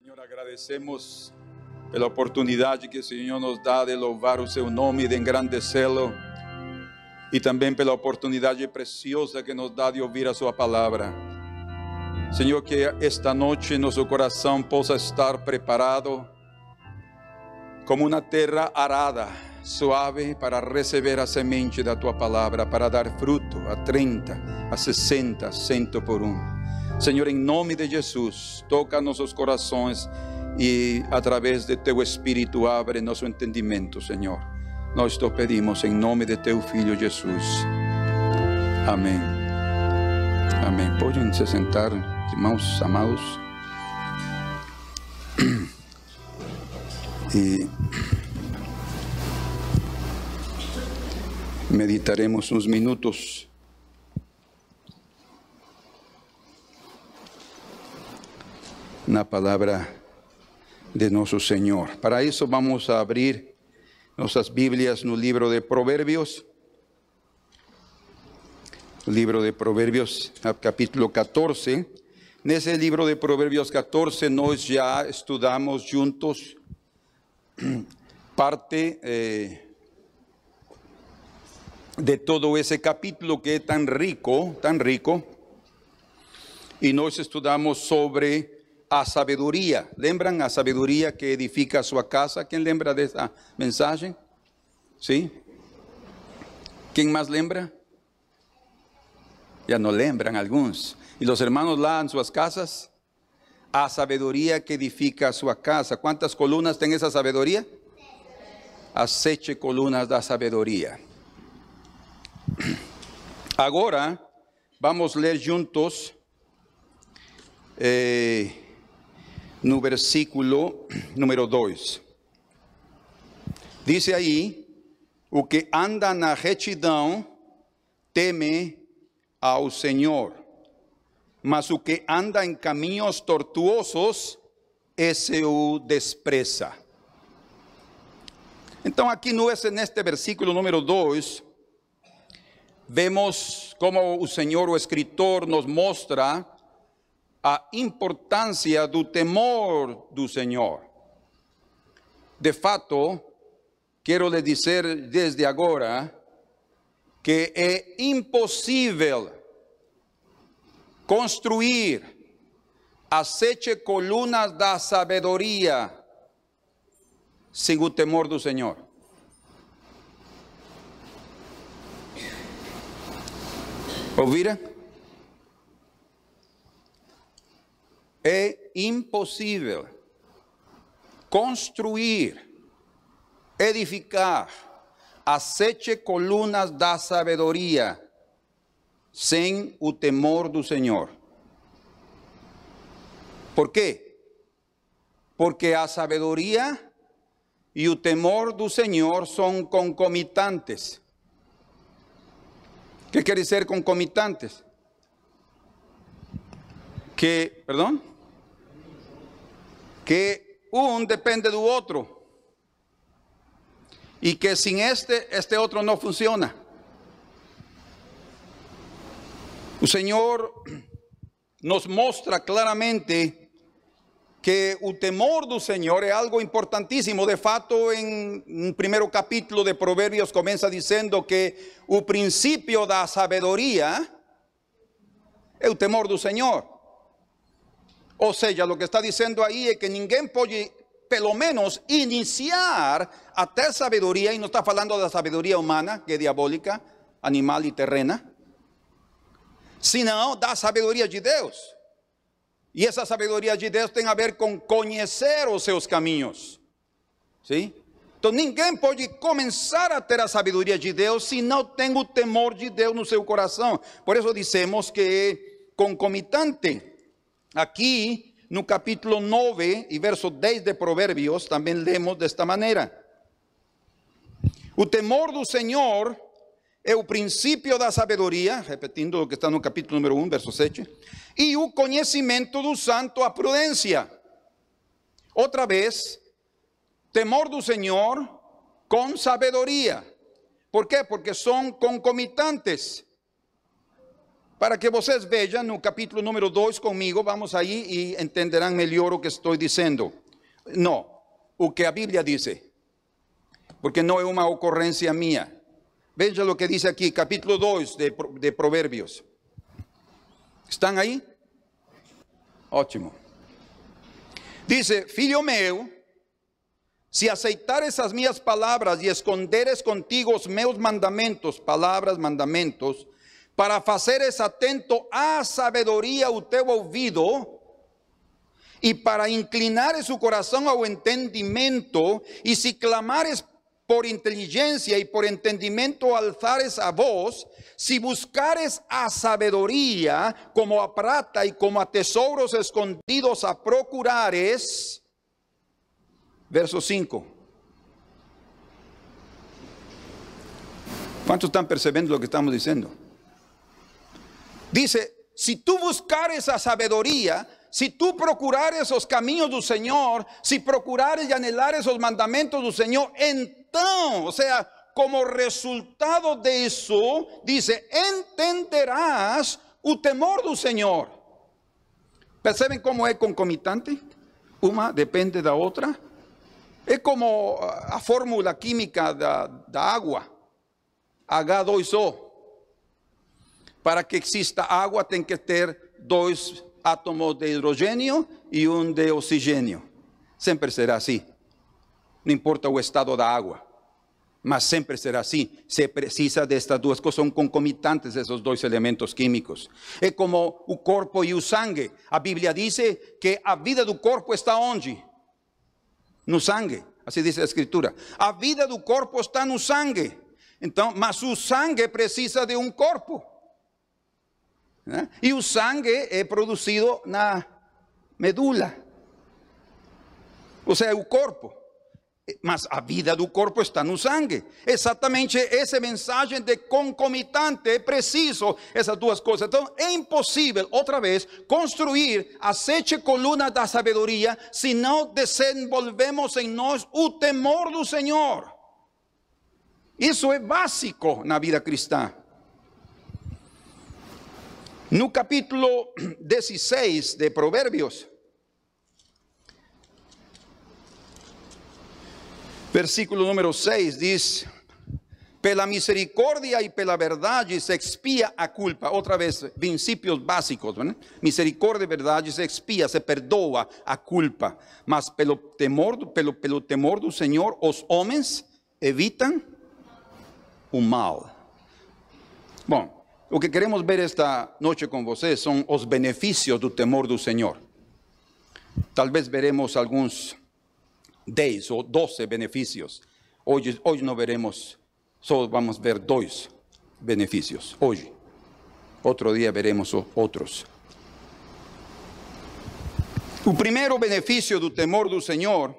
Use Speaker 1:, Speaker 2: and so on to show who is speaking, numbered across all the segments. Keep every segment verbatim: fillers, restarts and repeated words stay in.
Speaker 1: Senhor, agradecemos pela oportunidade que o Senhor nos dá de louvar o seu nome, de engrandecê-lo, e também pela oportunidade preciosa que nos dá de ouvir a sua palavra. Senhor, que esta noite nosso coração possa estar preparado como uma terra arada, suave, para receber a semente da tua palavra, para dar fruto a trinta, a sessenta, cento por um. Senhor, em nome de Jesus, toca nossos corações e através de teu Espírito abre nosso entendimento, Senhor. Nós te pedimos em nome de teu Filho Jesus. Amém. Amém. Podem se sentar, irmãos amados. E meditaremos uns minutos na palavra de nosso Senhor. Para isso vamos a abrir nossas Bíblias no livro de Provérbios. Livro de Provérbios, capítulo catorze. Nesse livro de Provérbios catorze nós já estudamos juntos parte eh, de todo esse capítulo que é tão rico, tão rico. E nós estudamos sobre a sabedoria. Lembram a sabedoria que edifica a sua casa? Quem lembra dessa mensagem? Sim? Quem mais lembra? Já não lembram alguns. E os irmãos lá em suas casas? A sabedoria que edifica a sua casa. Quantas colunas tem essa sabedoria? As sete colunas da sabedoria. Agora, vamos ler juntos eh, no versículo número dois. Diz aí: o que anda na retidão teme ao Senhor, mas o que anda em caminhos tortuosos, esse o despreza. Então aqui neste versículo número dois, vemos como o Senhor, o escritor, nos mostra a importância do temor do Senhor. De fato, quero lhe dizer desde agora que é impossível construir as sete colunas da sabedoria sem o temor do Senhor. Ouviram? É impossível construir, edificar as sete colunas da sabedoria sem o temor do Senhor. Por quê? Porque a sabedoria e o temor do Senhor são concomitantes. O que quer dizer concomitantes? Que, perdão? Que um depende do outro. E que sem este, este outro não funciona. O Senhor nos mostra claramente que o temor do Senhor é algo importantíssimo. De fato, em um primeiro capítulo de Provérbios começa dizendo que o princípio da sabedoria é o temor do Senhor. Ou seja, o que está dizendo aí é que ninguém pode, pelo menos, iniciar a ter sabedoria, e não está falando da sabedoria humana, que é diabólica, animal e terrena, senão da sabedoria de Deus. E essa sabedoria de Deus tem a ver com conhecer os seus caminhos. Sim? Então ninguém pode começar a ter a sabedoria de Deus se não tem o temor de Deus no seu coração. Por isso dizemos que é concomitante. Aqui no capítulo nove e verso dez de Provérbios também lemos desta maneira: o temor do Senhor é o princípio da sabedoria, repetindo o que está no capítulo número um, verso sete, e o conhecimento do santo, a prudência. Outra vez, temor do Senhor com sabedoria. ¿Por quê? Porque são concomitantes. para que vocês vejam no capítulo número dois comigo, vamos aí e entenderão melhor o que estou dizendo. Não, o que a Bíblia diz, porque não é uma ocorrência minha. Veja o que diz aqui, capítulo dois de, de Provérbios. ¿Estão aí? Ótimo. Dice, filho meu, se aceitares as minhas palavras e esconderes contigo os meus mandamentos, palavras, mandamentos, para fazeres atento à sabedoria o teu ouvido, e para inclinares o coração ao entendimento, e se clamares por inteligência e por entendimento alzares a voz, se buscares a sabedoria como a prata e como a tesouros escondidos a procurares. Verso cinco. ¿Cuántos están percibiendo lo que estamos diciendo? Dice, si tú buscares a sabedoria, si tú procurares os caminhos do Senhor, si procurares e anhelares os mandamentos do Senhor, então, o sea, como resultado de isso, dice, entenderás o temor do Senhor. Percebem como é concomitante? Uma depende da outra. É como a fórmula química da, da água, H dois O. Para que exista água tem que ter dois átomos de hidrogênio e um de oxigênio. Sempre será assim. Não importa o estado da água, mas sempre será assim. Se precisa destas duas coisas, são concomitantes esses dois elementos químicos. É como o corpo e o sangue. A Bíblia diz que a vida do corpo está onde? No sangue. Assim diz a Escritura. A vida do corpo está no sangue. Então, mas o sangue precisa de um corpo. Né? E o sangue é produzido na medula. Ou seja, o corpo. Mas a vida do corpo está no sangue. Exatamente essa mensagem de concomitante, é preciso essas duas coisas. Então é impossível, outra vez, construir as sete colunas da sabedoria se não desenvolvemos em nós o temor do Senhor. Isso é básico na vida cristã. No capítulo dezesseis de Provérbios, versículo número seis diz, pela misericórdia e pela verdade se expia a culpa. Outra vez, princípios básicos, ¿no? Misericórdia e verdade se expia, se perdoa a culpa. Mas pelo temor, pelo, pelo temor do Senhor, os homens evitam o mal. Bom, o que queremos ver esta noite com vocês são os benefícios do temor do Senhor. Talvez veremos alguns dez ou doze benefícios. Hoje, hoje não veremos, só vamos ver dois benefícios. Hoje. Outro dia veremos outros. O primeiro benefício do temor do Senhor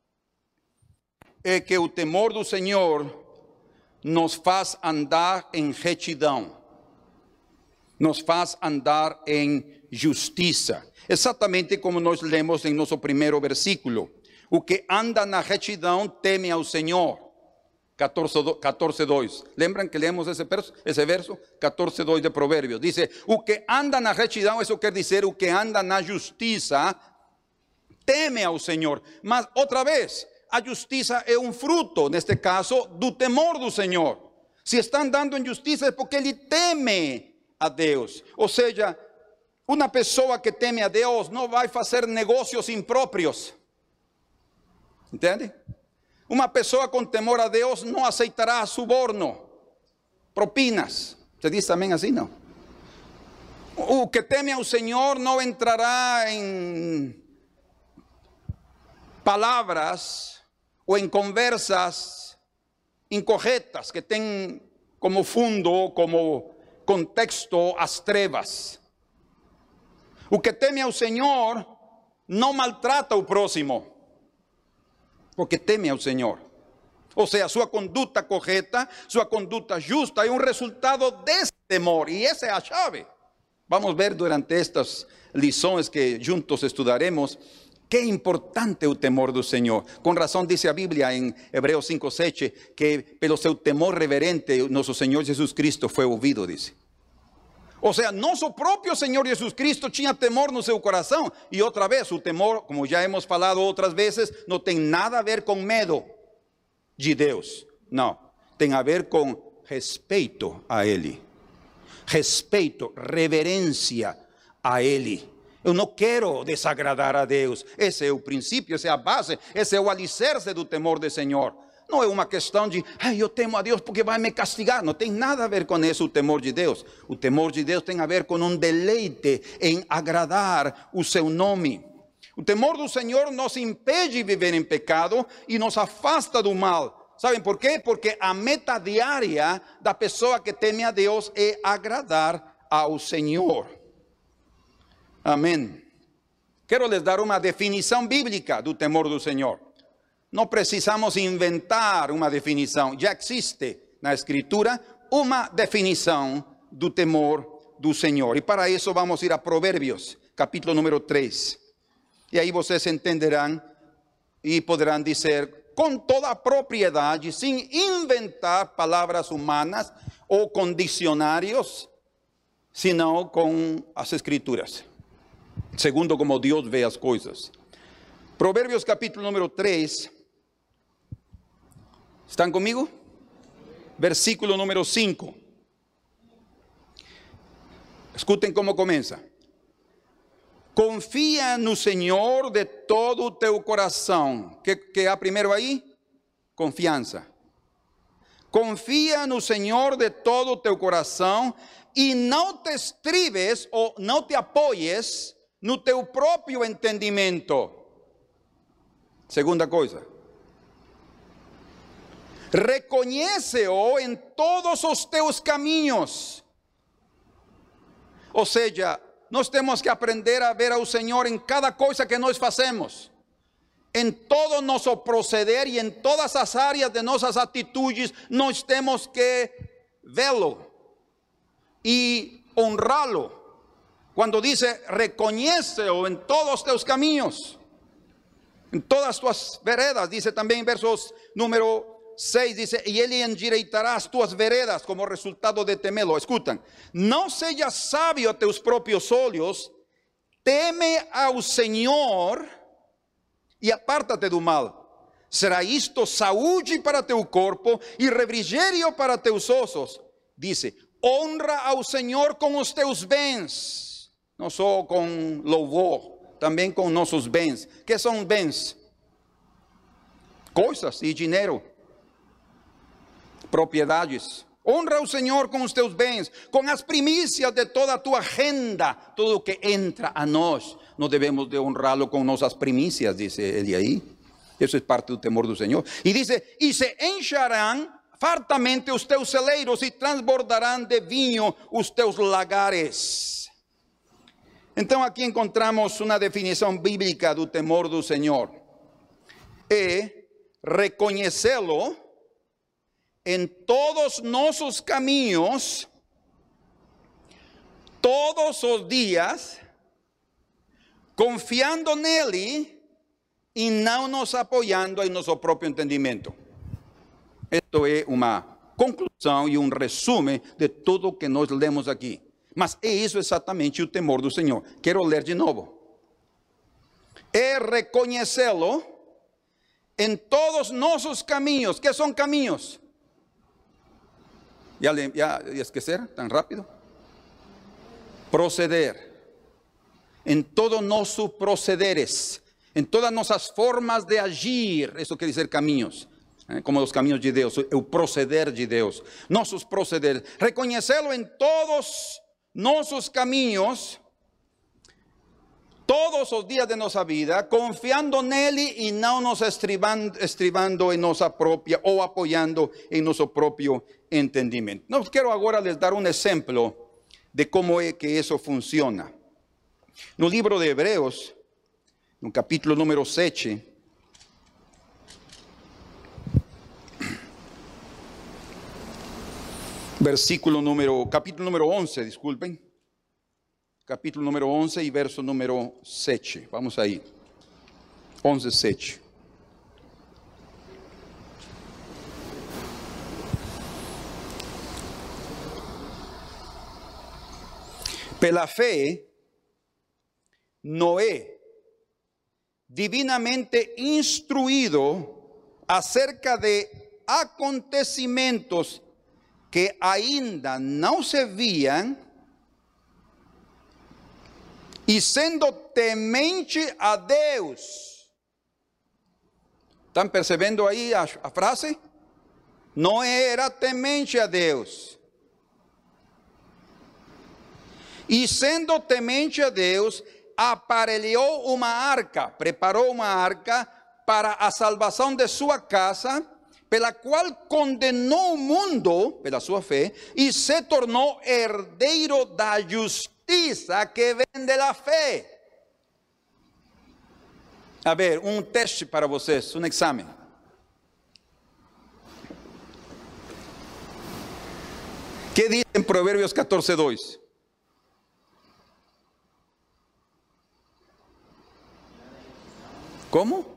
Speaker 1: é que o temor do Senhor nos faz andar em retidão. Nos faz andar em justiça. Exatamente como nós lemos em nosso primeiro versículo. O que anda na retidão teme ao Senhor. catorze, dois. Lembram que lemos esse verso? Esse verso? catorze, dois de Provérbios. Diz, o que anda na retidão, isso quer dizer, o que anda na justiça, teme ao Senhor. Mas, outra vez, a justiça é um fruto, neste caso, do temor do Senhor. Se está andando em justiça é porque ele teme a Deus. Ou seja, uma pessoa que teme a Deus não vai fazer negócios impróprios. Entende? Uma pessoa com temor a Deus não aceitará suborno, propinas. Você diz também assim, não? O que teme ao Senhor não entrará em palavras ou em conversas incorretas que têm como fundo, como contexto as trevas. O que teme ao Senhor não maltrata o próximo, porque teme ao Senhor. Ou seja, sua conduta correta, sua conduta justa é um resultado desse temor, e essa é a chave. Vamos ver durante estas lições que juntos estudaremos, que importante é o temor do Senhor. Com razão diz a Bíblia em Hebreus cinco, sete, que pelo seu temor reverente, nosso Senhor Jesus Cristo foi ouvido, diz. Ou seja, nosso próprio Senhor Jesus Cristo tinha temor no seu coração. E outra vez, o temor, como já hemos falado outras vezes, não tem nada a ver com medo de Deus. Não, tem a ver com respeito a Ele. Respeito, reverência a Ele. Eu não quero desagradar a Deus. Esse é o princípio, essa é a base, esse é o alicerce do temor do Senhor. Não é uma questão de, ai, eu temo a Deus porque vai me castigar. Não tem nada a ver com isso, o temor de Deus. O temor de Deus tem a ver com um deleite em agradar o seu nome. O temor do Senhor nos impede de viver em pecado e nos afasta do mal. Sabem por quê? Porque a meta diária da pessoa que teme a Deus é agradar ao Senhor. Amém. Quero lhes dar uma definição bíblica do temor do Senhor. Não precisamos inventar uma definição. Já existe na Escritura uma definição do temor do Senhor. E para isso vamos ir a Provérbios, capítulo número três. E aí vocês entenderão e poderão dizer com toda a propriedade, sem inventar palavras humanas ou com dicionários, senão com as Escrituras, segundo como Deus vê as coisas. Provérbios capítulo número três. ¿Están comigo? Versículo número cinco. Escutem como começa. Confia no Senhor de todo o teu coração. Que, que há primeiro aí? Confiança. Confia no Senhor de todo o teu coração e não te estribes ou não te apoies no teu próprio entendimento. Segunda coisa. Reconhece-o em todos os teus caminhos. Ou seja, nós temos que aprender a ver ao Senhor em cada coisa que nós fazemos, em todo nosso proceder e em todas as áreas de nossas atitudes. Nós temos que vê-lo e honrá-lo. Quando diz reconhece-o em todos os teus caminhos, em todas as tuas veredas, diz também em versos número seis, dice, e ele endireitará as tuas veredas como resultado de temê-lo. Escutam, não sejas sábio a teus próprios olhos, teme ao Senhor e apártate do mal. Será isto saúde para teu corpo e refrigério para teus ossos. Dice, honra ao Senhor com os teus bens, não só com louvor, também com nossos bens. Que são bens? Coisas e dinheiro. Propriedades. Honra ao Senhor com os teus bens, com as primícias de toda a tua renda. Tudo o que entra a nós, nós devemos de honrá-lo com nossas primícias, diz ele aí. Isso é parte do temor do Senhor. E diz, e se encharão fartamente os teus celeiros e transbordarão de vinho os teus lagares. Então aqui encontramos uma definição bíblica do temor do Senhor. É reconhecê-lo em todos nossos caminhos, todos os dias, confiando nele e não nos apoiando em nosso próprio entendimento. Isto é uma conclusão e um resumo de tudo o que nós lemos aqui. Mas é isso exatamente o temor do Senhor. Quero ler de novo. É reconhecê-lo em todos nossos caminhos. Que são caminhos? ¿Ya, le, ya, ya esquecer tan rápido? Proceder. En todo nosso procederes, em todas nossas formas de agir. Isso quer dizer caminhos, eh? Como os caminhos de Deus, o proceder de Deus. Nossos procederes. Reconhecê-lo em todos nossos caminhos, todos os dias de nossa vida, confiando nele e não nos estribando, estribando em nossa própria ou apoiando em nosso próprio entendimento. Não quero agora les dar um exemplo de como é que isso funciona. No livro de Hebreus, no capítulo número sete, versículo número, capítulo número onze, desculpem. Capítulo número onze e verso número sete. Vamos aí. onze, sete. Pela fé, Noé, divinamente instruido acerca de acontecimentos que ainda não se viam, e sendo temente a Deus. ¿Están percebendo aí a, a frase? Noé era temente a Deus. E sendo temente a Deus, aparelhou uma arca, preparou uma arca para a salvação de sua casa, pela qual condenou o mundo, pela sua fé, e se tornou herdeiro da justiça que vem da fé. A ver, um teste para vocês, um exame. Que diz em Provérbios catorze, dois? Como?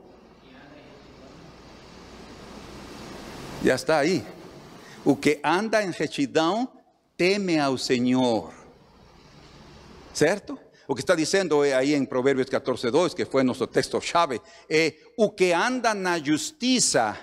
Speaker 1: Já está aí. O que anda em retidão teme ao Senhor. Certo? O que está dizendo aí em Provérbios catorze, dois, que foi nosso texto-chave, é o que anda na justiça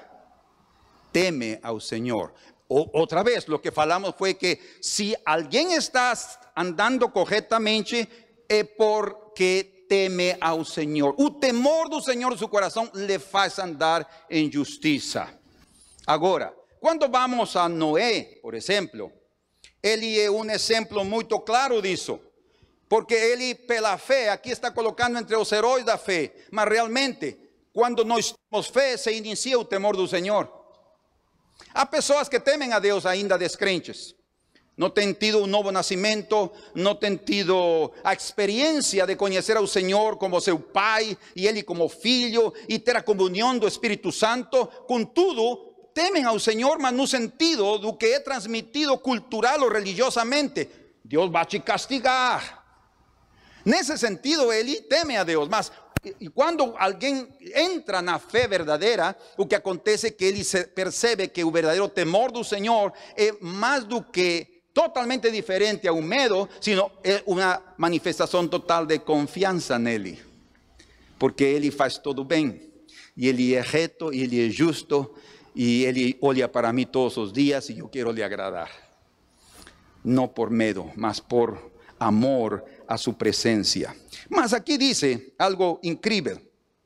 Speaker 1: teme ao Senhor. O, outra vez, o que falamos foi que se alguém está andando corretamente, é porque teme ao Senhor. O temor do Senhor em seu coração lhe faz andar em justiça. Agora, quando vamos a Noé, por exemplo, ele é um exemplo muito claro disso. Porque ele, pela fé, aqui está colocando entre os heróis da fé. Mas realmente, quando nós temos fé, se inicia o temor do Senhor. Há pessoas que temem a Deus ainda descrentes. Não têm tido um novo nascimento, não têm tido a experiência de conhecer ao Senhor como seu Pai, e Ele como Filho, e ter a comunhão do Espírito Santo. Contudo, temem ao Senhor, mas no sentido do que é transmitido cultural ou religiosamente. Deus vai te castigar. Nesse sentido, ele teme a Deus, mas e quando alguém entra na fé verdadeira, o que acontece é que ele percebe que o verdadeiro temor do Senhor é mais do que totalmente diferente ao medo, sino é uma manifestação total de confiança nele, porque ele faz tudo bem, e ele é reto, e ele é justo, e ele olha para mim todos os dias, e eu quero lhe agradar, não por medo, mas por amor a su presencia. Mas aquí dice algo increíble.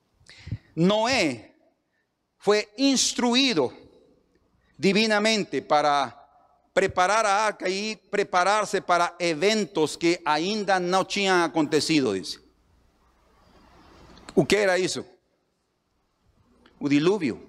Speaker 1: Noé fue instruido divinamente para preparar a arca y prepararse para eventos que ainda não tinham acontecido, dice. O que era isso? O dilúvio.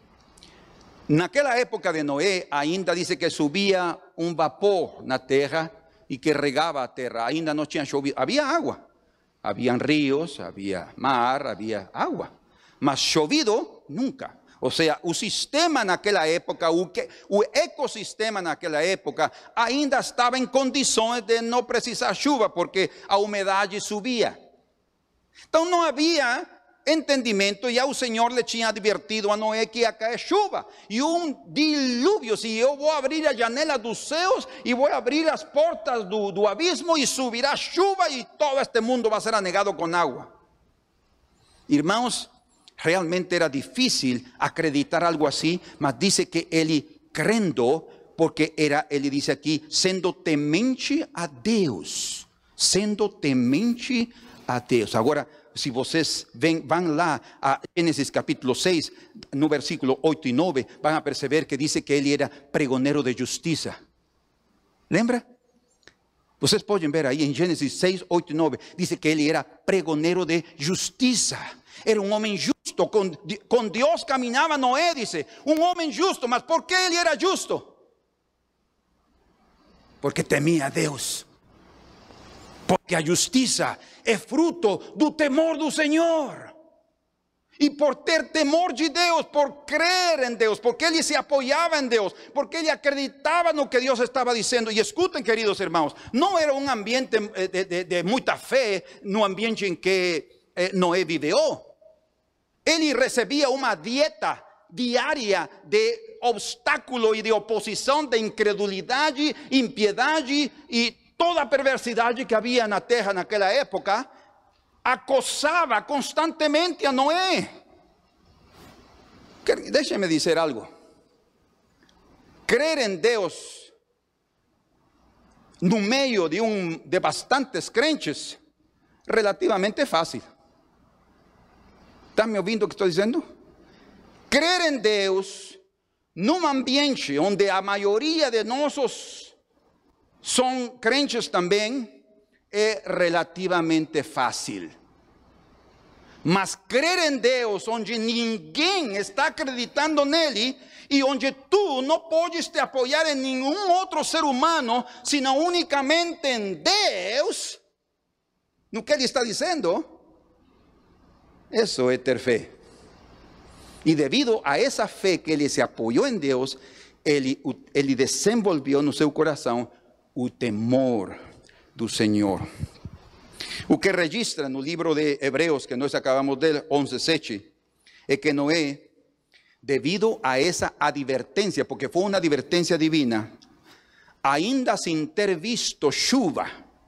Speaker 1: Naquela época de Noé, ainda dice que subia um vapor na terra y que regaba a terra, ainda no tinha chovido, había agua, habían ríos, había mar, había agua, mas chovido nunca. O sea, o sistema naquela época, o, que, o ecossistema naquela época ainda estava em condições de não precisar chuva, porque a umidade subia. Então não havia entendimento, e o Senhor lhe tinha advertido a Noé que ia cair chuva e um dilúvio. Se eu vou abrir a janela dos céus e vou abrir as portas do, do abismo, e subirá chuva e todo este mundo vai ser anegado com água. Irmãos, realmente era difícil acreditar algo assim, mas dice que ele crendo, porque era, ele diz aqui, sendo temente a Deus, sendo temente a Deus. Agora, se vocês vêm, vão lá a Gênesis capítulo seis, no versículo oito e nove, vão a perceber que diz que ele era pregoneiro de justiça. Lembra? Vocês podem ver aí em Gênesis seis, oito e nove, diz que ele era pregoneiro de justiça. Era um homem justo, com, com Deus caminhava Noé, dice, um homem justo. Mas por que ele era justo? Porque temia a Deus. Porque a justiça é fruto do temor do Senhor. E por ter temor de Deus, por crer em Deus, porque ele se apoiava em Deus, porque ele acreditava no que Deus estava dizendo. E escutem, queridos irmãos, não era um ambiente de, de, de muita fé no ambiente em que eh, Noé viveu. Ele recebia uma dieta diária de obstáculo e de oposição, de incredulidade, impiedade e toda a perversidade que havia na terra naquela época, acosava constantemente a Noé. Deixe-me dizer algo. Crer em Deus no meio de, um, de bastantes crentes, relativamente fácil. ¿Está me ouvindo o que estou dizendo? Crer em Deus num ambiente onde a maioria de nossos são crentes também é relativamente fácil. Mas crer em Deus onde ninguém está acreditando nele e onde tu não podes te apoiar em nenhum outro ser humano, senão unicamente em Deus, no que ele está dizendo, isso é ter fé. E devido a essa fé que ele se apoiou em Deus, ele, ele desenvolveu no seu coração o temor do Senhor. O que registra no livro de Hebreus, que nós acabamos de ler, onze, sete, é que Noé, devido a essa advertência, porque foi uma advertência divina, ainda sem ter visto chuva,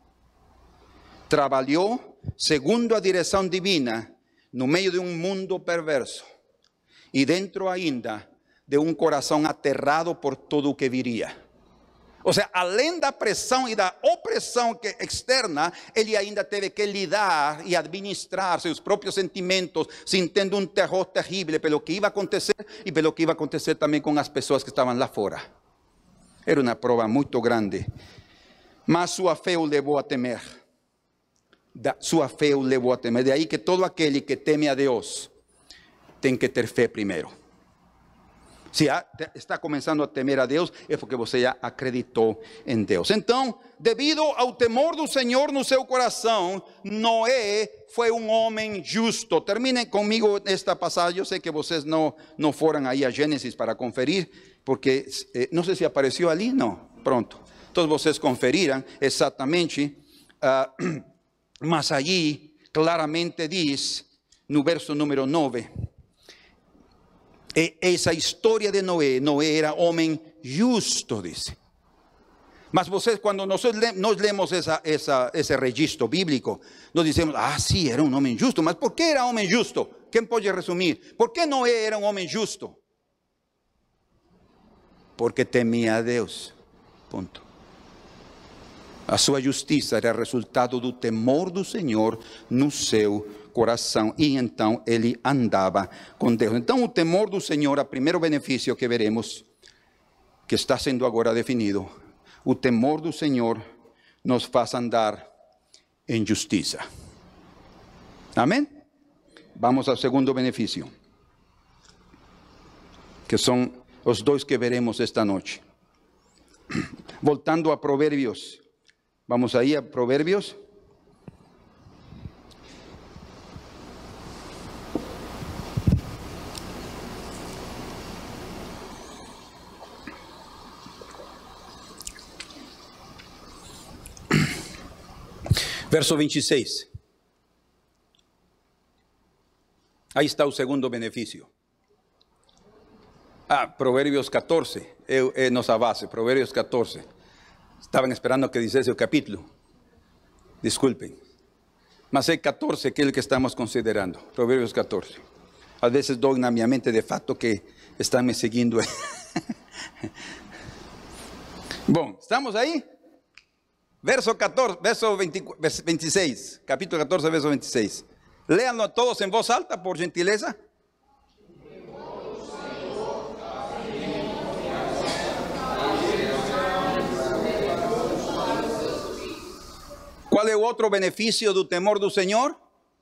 Speaker 1: trabalhou segundo a direção divina, no meio de um mundo perverso, e dentro ainda de um coração aterrado por tudo o que viria. Ou seja, além da pressão e da opressão que, externa, ele ainda teve que lidar e administrar seus próprios sentimentos, sentindo um terror terrível pelo que ia acontecer e pelo que ia acontecer também com as pessoas que estavam lá fora. Era uma prova muito grande. Mas sua fé o levou a temer. Da, sua fé o levou a temer. De aí que todo aquele que teme a Deus tem que ter fé primeiro. Se está começando a temer a Deus, é porque você já acreditou em Deus. Então, devido ao temor do Senhor no seu coração, Noé foi um homem justo. Terminem comigo esta passagem. Eu sei que vocês não, não foram aí a Gênesis para conferir, porque eh, não sei se apareceu ali, não. Pronto. Todos vocês conferiram exatamente, uh, mas allí claramente diz, no verso número nove, essa história de Noé, Noé era homem justo, diz. Mas vocês, quando nós, nós lemos essa, essa, esse registro bíblico, nós dizemos, ah, sim, era um homem justo. Mas por que era homem justo? Quem pode resumir? Por que Noé era um homem justo? Porque temia a Deus. Ponto. A sua justiça era resultado do temor do Senhor no seu coração, e então ele andava com Deus. Então o temor do Senhor, o primeiro benefício que veremos, que está sendo agora definido, o temor do Senhor nos faz andar em justiça. Amém? Vamos ao segundo benefício, que são os dois que veremos esta noite. Voltando a Provérbios, vamos aí a Provérbios. Verso vinte e seis. Aí está o segundo benefício. Ah, Provérbios catorze, é, é nossa base, Provérbios catorze. Estavam esperando que dissesse o capítulo. Desculpem. Mas é catorze que é o que estamos considerando. Provérbios catorze. Às vezes dou na minha mente de fato que estão me seguindo. Bom, estamos aí? Verso catorze, verso vinte, vinte e seis, capítulo catorze, verso vinte e seis. Léanlo todos em voz alta, por gentileza. Qual é o outro benefício do temor do Senhor?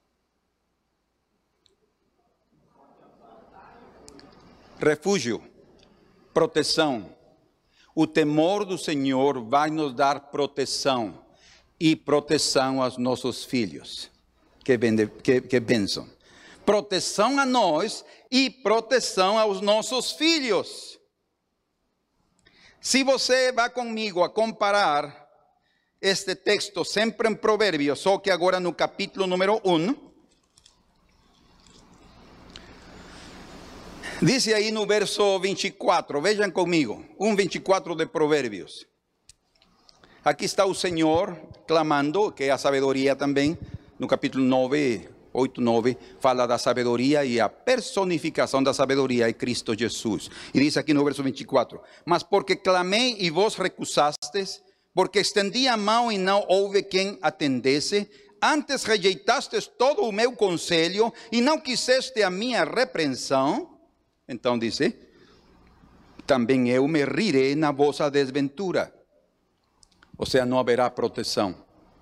Speaker 1: Refúgio, proteção. O temor do Senhor vai nos dar proteção, e proteção aos nossos filhos. Que, que, que bênção. Proteção a nós e proteção aos nossos filhos. Se você vai comigo a comparar este texto sempre em Provérbios, só que agora no capítulo número um, diz aí no verso vinte e quatro, vejam comigo, um vinte e quatro de Provérbios. Aqui está o Senhor clamando, que é a sabedoria também, no capítulo nove, oito, nove, fala da sabedoria e a personificação da sabedoria é Cristo Jesus. E diz aqui no verso vinte e quatro: mas porque clamei e vos recusastes, porque estendi a mão e não houve quem atendesse, antes rejeitastes todo o meu conselho e não quiseste a minha repreensão, então diz, também eu me rirei na vossa desventura. Ou seja, não haverá proteção.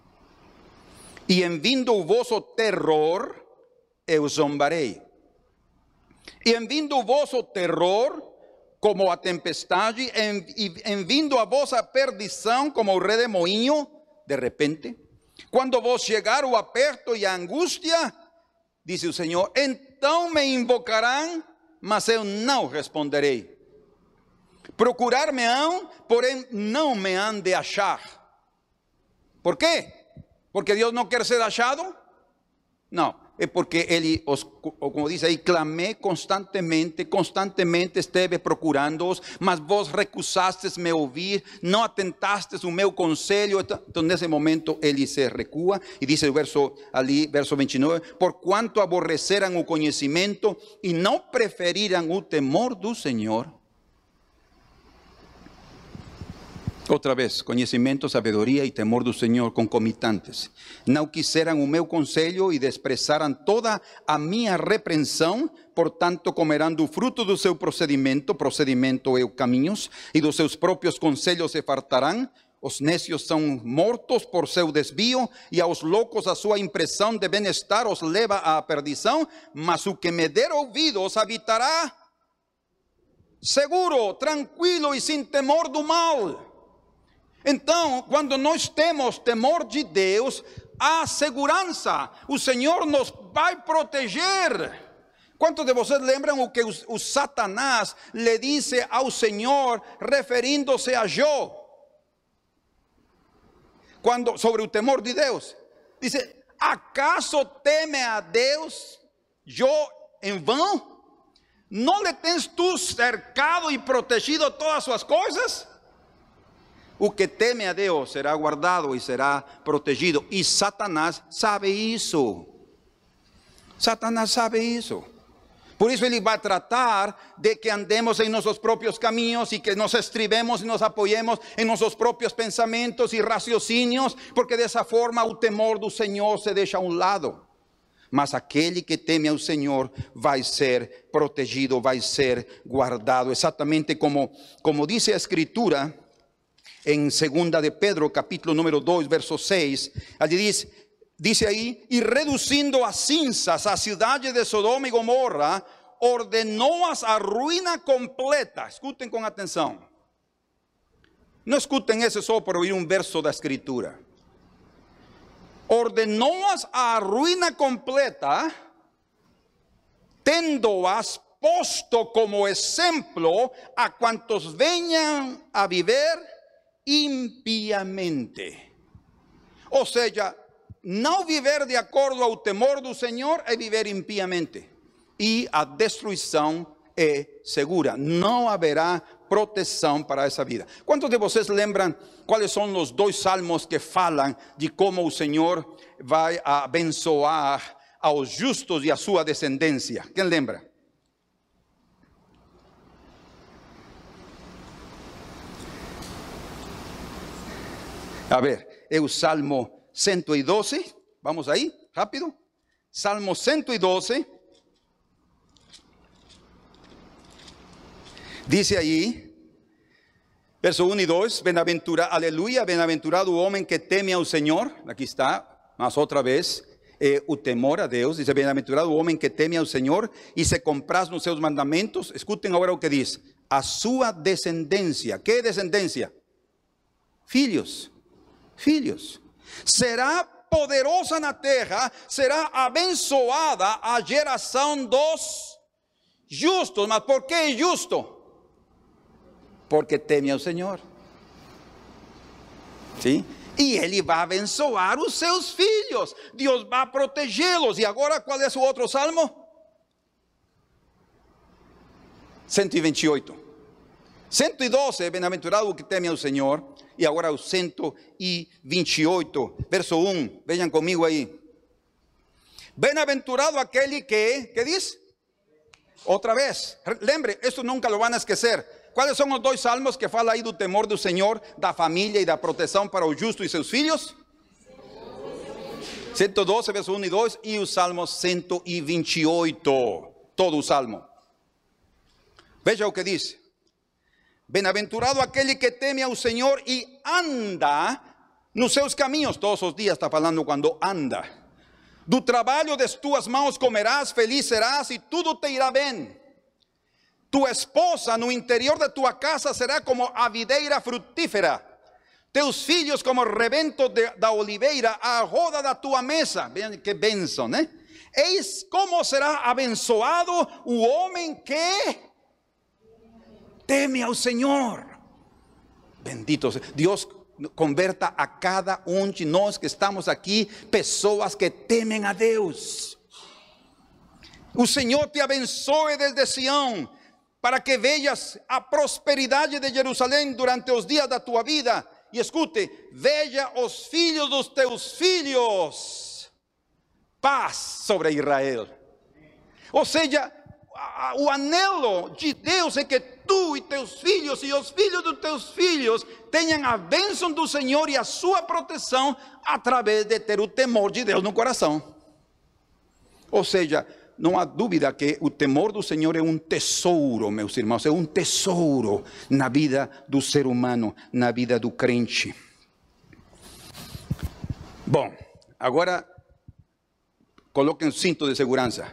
Speaker 1: E em vindo o vosso terror, eu zombarei. E em vindo o vosso terror, como a tempestade, em, em vindo a vossa perdição, como o redemoinho, de repente, quando vos chegar o aperto e a angústia, diz o Senhor, então me invocarão, mas eu não responderei. Procurar-me-ão, porém não me han de achar. Por quê? Porque Deus não quer ser achado? Não, é porque Ele, os, como diz aí, clamé constantemente, constantemente esteve procurando-os, mas vos recusastes me ouvir, não atentastes o meu conselho. Então nesse momento Ele se recua e diz o verso ali, verso vinte e nove, por quanto aborreceram o conhecimento e não preferiram o temor do Senhor. Outra vez, conhecimento, sabedoria e temor do Senhor concomitantes. Não quiseram o meu conselho e desprezaram toda a minha repreensão, portanto comerão do fruto do seu procedimento, procedimento é o caminhos, e dos seus próprios conselhos se fartarão. Os necios são mortos por seu desvio, e aos loucos a sua impressão de bem-estar os leva à perdição, mas o que me der ouvidos habitará seguro, tranquilo e sem temor do mal. Então, quando nós temos temor de Deus, há segurança, o Senhor nos vai proteger. Quantos de vocês lembram o que o, o Satanás lhe disse ao Senhor, referindo-se a Jó? Quando, sobre o temor de Deus, disse, acaso teme a Deus, Jó, em vão? Não lhe tens tu cercado e protegido todas as suas coisas? O que teme a Deus será guardado e será protegido. E Satanás sabe isso. Satanás sabe isso. Por isso ele vai tratar de que andemos em nossos próprios caminhos e que nos estribemos e nos apoyemos em nossos próprios pensamentos e raciocínios, porque dessa forma o temor do Senhor se deixa a um lado. Mas aquele que teme ao Senhor vai ser protegido, vai ser guardado. Exatamente como, como diz a Escritura, em segunda de Pedro, capítulo número dois, verso seis, ali diz, dice aí, e reduzindo a cinzas a cidade de Sodoma e Gomorra, ordenou-as a ruína completa. Escutem com atenção. Não escutem isso só por ouvir um verso da Escritura. Ordenou-as a ruína completa, tendo-as posto como exemplo a quantos venham a viver impiamente. Ou seja, não viver de acordo ao temor do Senhor é viver impiamente. E a destruição é segura. Não haverá proteção para essa vida. Quantos de vocês lembram quais são os dois salmos que falam de como o Senhor vai abençoar aos justos e a sua descendência? Quem lembra? A ver, é o Salmo cento e doze, vamos aí, rápido. Salmo cento e doze. Diz aí, verso um e dois, bem-aventurado, aleluia, bem-aventurado o homem que teme ao Senhor. Aqui está, mas outra vez, é o temor a Deus. Diz, bem-aventurado o homem que teme ao Senhor e se compraz nos seus mandamentos. Escutem agora o que diz, a sua descendência. Que descendência? Filhos. Filhos, será poderosa na terra, será abençoada a geração dos justos. Mas por que é justo? Porque teme ao Senhor. Sim? E Ele vai abençoar os seus filhos, Deus vai protegê-los. E agora qual é o outro salmo? cento e vinte e oito. cento e doze, bem-aventurado o que teme ao Senhor. E agora o cento e vinte e oito, verso um, vejam comigo aí. Bem-aventurado aquele que, ¿qué diz? Outra vez, lembre, isso nunca lo van a esquecer. Quais são os dois salmos que fala aí do temor do Senhor, da família e da proteção para o justo e seus filhos? cento e doze, verso um e dois, e o salmo cento e vinte e oito, todo o salmo. Veja o que diz. Bem-aventurado aquele que teme ao Senhor e anda nos seus caminhos. Todos os dias está falando quando anda. Do trabalho das tuas mãos comerás, feliz serás e tudo te irá bem. Tu esposa no interior de tua casa será como a videira frutífera. Teus filhos como rebento de, da oliveira, a roda da tua mesa. Vejam que bênção, né? Eis como será abençoado o homem que teme ao Senhor. Bendito seja Deus. Converta a cada um de nós que estamos aqui pessoas que temem a Deus. O Senhor te abençoe desde Sião, para que vejas a prosperidade de Jerusalém durante os dias da tua vida. E escute, veja os filhos dos teus filhos. Paz sobre Israel. Ou seja, o anelo de Deus é que tu e teus filhos e os filhos dos teus filhos tenham a bênção do Senhor e a sua proteção através de ter o temor de Deus no coração. Ou seja, não há dúvida que o temor do Senhor é um tesouro, meus irmãos, é um tesouro na vida do ser humano, na vida do crente. Bom, agora coloquem o cinto de segurança.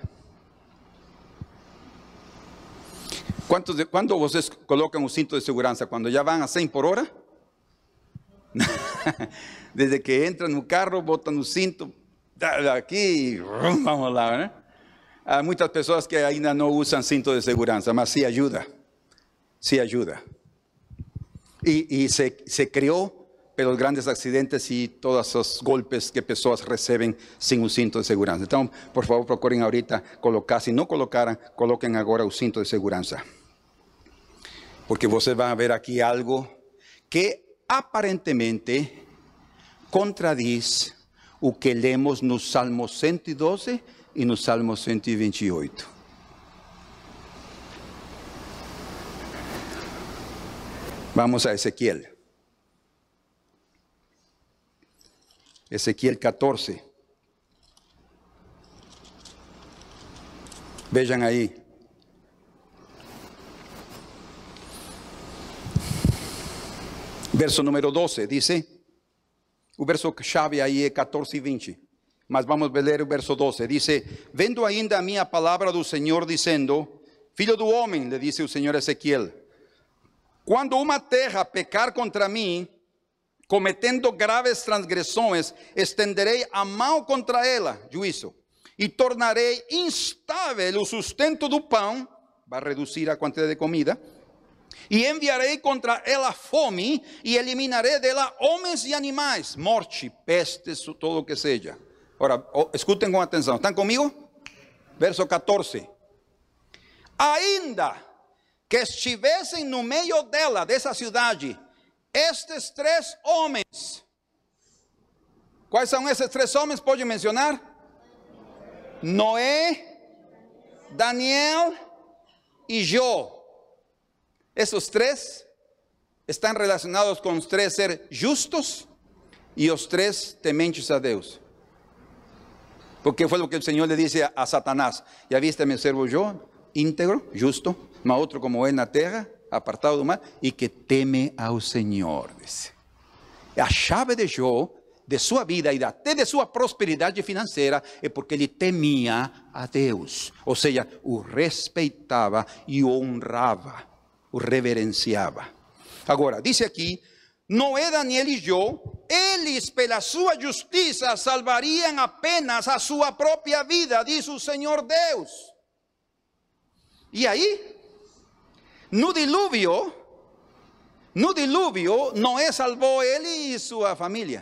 Speaker 1: Quantos de, quando vocês colocam o cinto de segurança? Quando já vão a cem por hora? Desde que entram no carro, botam o cinto, aqui, vamos lá, né? Há muitas pessoas que ainda não usam cinto de segurança, mas sim ajuda, sim ajuda. E, e se, se criou pelos grandes acidentes e todos os golpes que pessoas recebem sem o cinto de segurança. Então, por favor, procurem ahorita colocar, se não colocaram, coloquem agora o cinto de segurança. Porque vocês vão ver aqui algo que aparentemente contradiz o que lemos no Salmo cento e doze e no Salmo cento e vinte e oito. Vamos a Ezequiel. Ezequiel catorze. Vejam aí. Verso número doze, dice. O verso chave aí é catorze e vinte. Mas vamos ler o verso doze. Dice, vendo ainda a minha palavra do Senhor, dizendo, filho do homem, le disse o Senhor a Ezequiel, quando uma terra pecar contra mim, cometendo graves transgressões, estenderei a mão contra ela, juízo, e tornarei instável o sustento do pão, vai reduzir a quantidade de comida, e enviarei contra ela fome, e eliminarei dela homens e animais, morte, pestes, todo o que seja. Ora, escutem com atenção, ¿estão comigo? Verso catorze. Ainda que estivessem no meio dela, dessa cidade, estes três homens. Quais são esses três homens? Pode mencionar? Noé, Daniel e Jó. Esses três estão relacionados com os três ser justos e os três tementes a Deus. Porque foi o que o Senhor lhe disse a, a Satanás. Já viste meu servo Jó, íntegro, justo, mas outro como ele na terra, apartado do mal, e que teme ao Senhor, disse. A chave de Jó, de sua vida e até de sua prosperidade financeira, é porque ele temia a Deus. Ou seja, o respeitava e o honrava, o reverenciava. Agora, diz aqui, Noé, Daniel e Jó, eles pela sua justiça salvariam apenas a sua própria vida, diz o Senhor Deus. E aí, no dilúvio, no dilúvio, Noé salvou ele e sua família.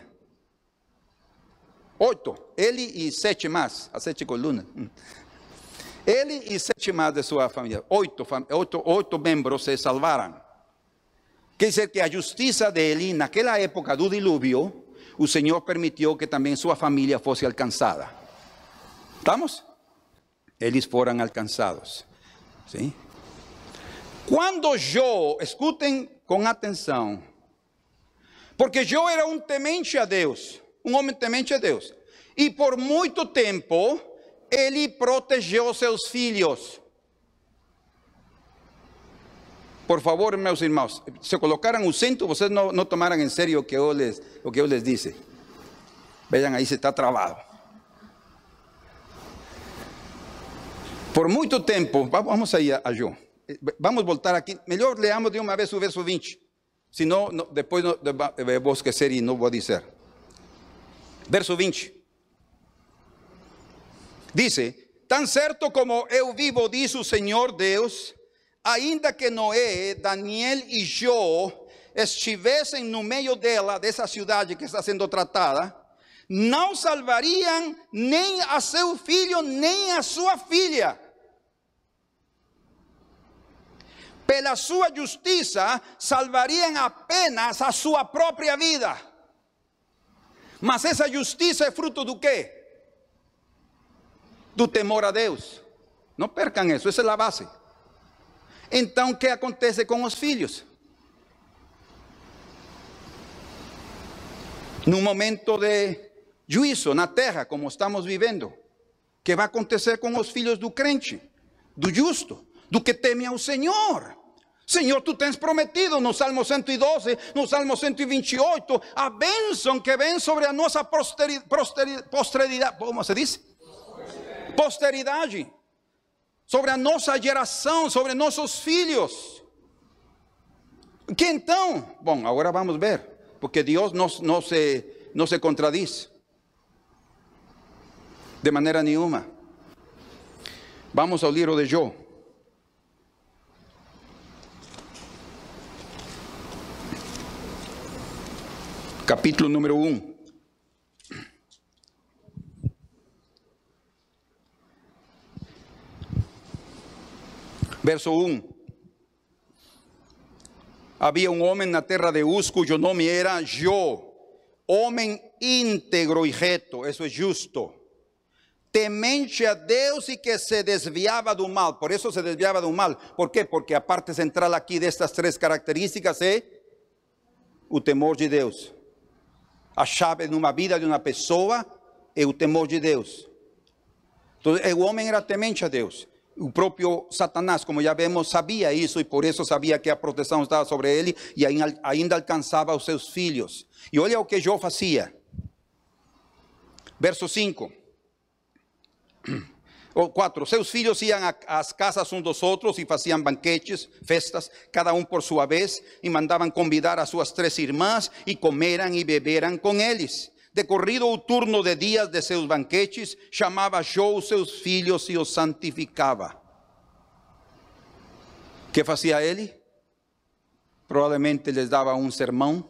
Speaker 1: Oito, ele e sete mais, as sete colunas. Ele e sete mais de sua família. Oito, oito, oito membros se salvaram. Quer dizer que a justiça dele, naquela época do dilúvio, o Senhor permitiu que também sua família fosse alcançada. ¿Estamos? Eles foram alcançados. ¿Sí? Quando Jó, escutem com atenção, porque Jó era um temente a Deus, um homem temente a Deus, e por muito tempo ele protegeu seus filhos. Por favor, meus irmãos, se colocaram o cinto, vocês não, não tomaram em sério o que eu les, o que eu les disse. Vejam aí se está travado. Por muito tempo, vamos aí a, a Jó. Vamos voltar aqui, melhor leamos de uma vez o verso vinte. Senão, não, depois não, eu vou esquecer e não vou dizer. Verso vinte. Dice, tan certo como eu vivo, diz o Senhor Deus, ainda que Noé, Daniel e Jó estivessem no meio dela, dessa cidade que está sendo tratada, não salvariam nem a seu filho, nem a sua filha. Pela sua justiça, salvariam apenas a sua própria vida. Mas essa justiça é fruto do quê? Do temor a Deus. Não percam isso, essa é a base. Então, o que acontece com os filhos? Num momento de juízo na terra, como estamos vivendo, o que vai acontecer com os filhos do crente, do justo, do que teme ao Senhor? Senhor, tu tens prometido no Salmo cento e doze, no Salmo cento e vinte e oito, a bênção que vem sobre a nossa posteridade, posteridade, como se diz? Posteridade. Sobre a nossa geração, sobre nossos filhos. Que então? Bom, agora vamos ver, porque Deus não, não, se, não se contradiz de maneira nenhuma. Vamos ao livro de Jó. Capítulo número um. Verso um. Havia um homem na terra de Uz, cujo nome era Jó, homem íntegro e reto, isso é justo, temente a Deus e que se desviava do mal. Por isso se desviava do mal. Por quê? Porque a parte central aqui destas três características é o temor de Deus. A chave numa vida de uma pessoa é o temor de Deus. Então, o homem era temente a Deus. O próprio Satanás, como já vemos, sabia isso e por isso sabia que a proteção estava sobre ele e ainda alcançava os seus filhos. E olha o que Jó fazia. Verso cinco. Ou quatro. Seus filhos iam às casas uns dos outros e faziam banquetes, festas, cada um por sua vez, e mandavam convidar as suas três irmãs e comeram e beberam com eles. Decorrido o turno de dias de seus banquetes, chamava Jó os seus filhos e os santificava. O que fazia ele? Provavelmente lhes dava um sermão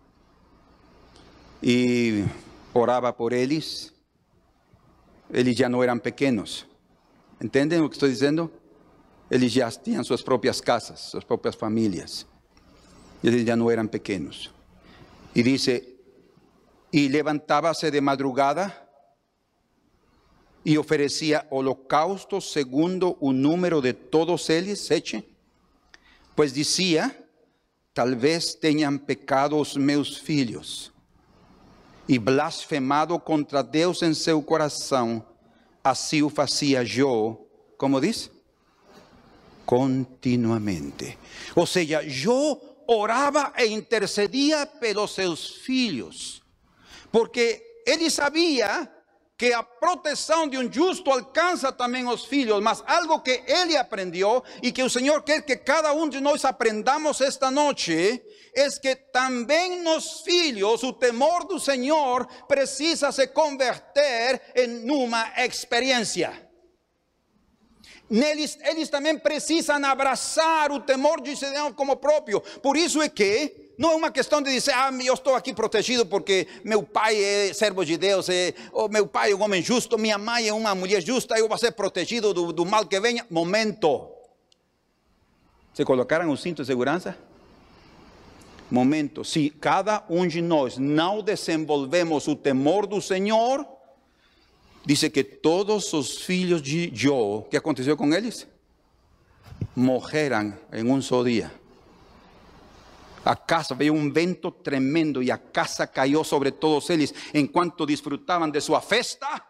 Speaker 1: e orava por eles. Eles já não eram pequenos. Entendem o que estou dizendo? Eles já tinham suas próprias casas, suas próprias famílias. Eles já não eram pequenos. E diz... E levantava-se de madrugada e oferecia holocaustos segundo o número de todos eles, sete. Pois dizia, talvez tenham pecado os meus filhos e blasfemado contra Deus em seu coração. Assim o fazia Jó, como diz? Continuamente. Ou seja, Jó orava e intercedia pelos seus filhos. Porque ele sabia que a proteção de um justo alcança também os filhos, mas algo que ele aprendeu e que o Senhor quer que cada um de nós aprendamos esta noite, é que também nos filhos o temor do Senhor precisa se converter em uma experiência. Neles, eles também precisam abraçar o temor de Deus como próprio. Por isso é que não é uma questão de dizer, ah, eu estou aqui protegido porque meu pai é servo de Deus, é, ou meu pai é um homem justo, minha mãe é uma mulher justa, eu vou ser protegido do, do mal que venha. Momento. Se colocaram o cinto de segurança? Momento, se cada um de nós não desenvolvemos o temor do Senhor, diz que todos os filhos de Jó, o que aconteceu com eles? Morreram em um só dia. A casa, veio um vento tremendo e a casa caiu sobre todos eles enquanto desfrutavam de sua festa.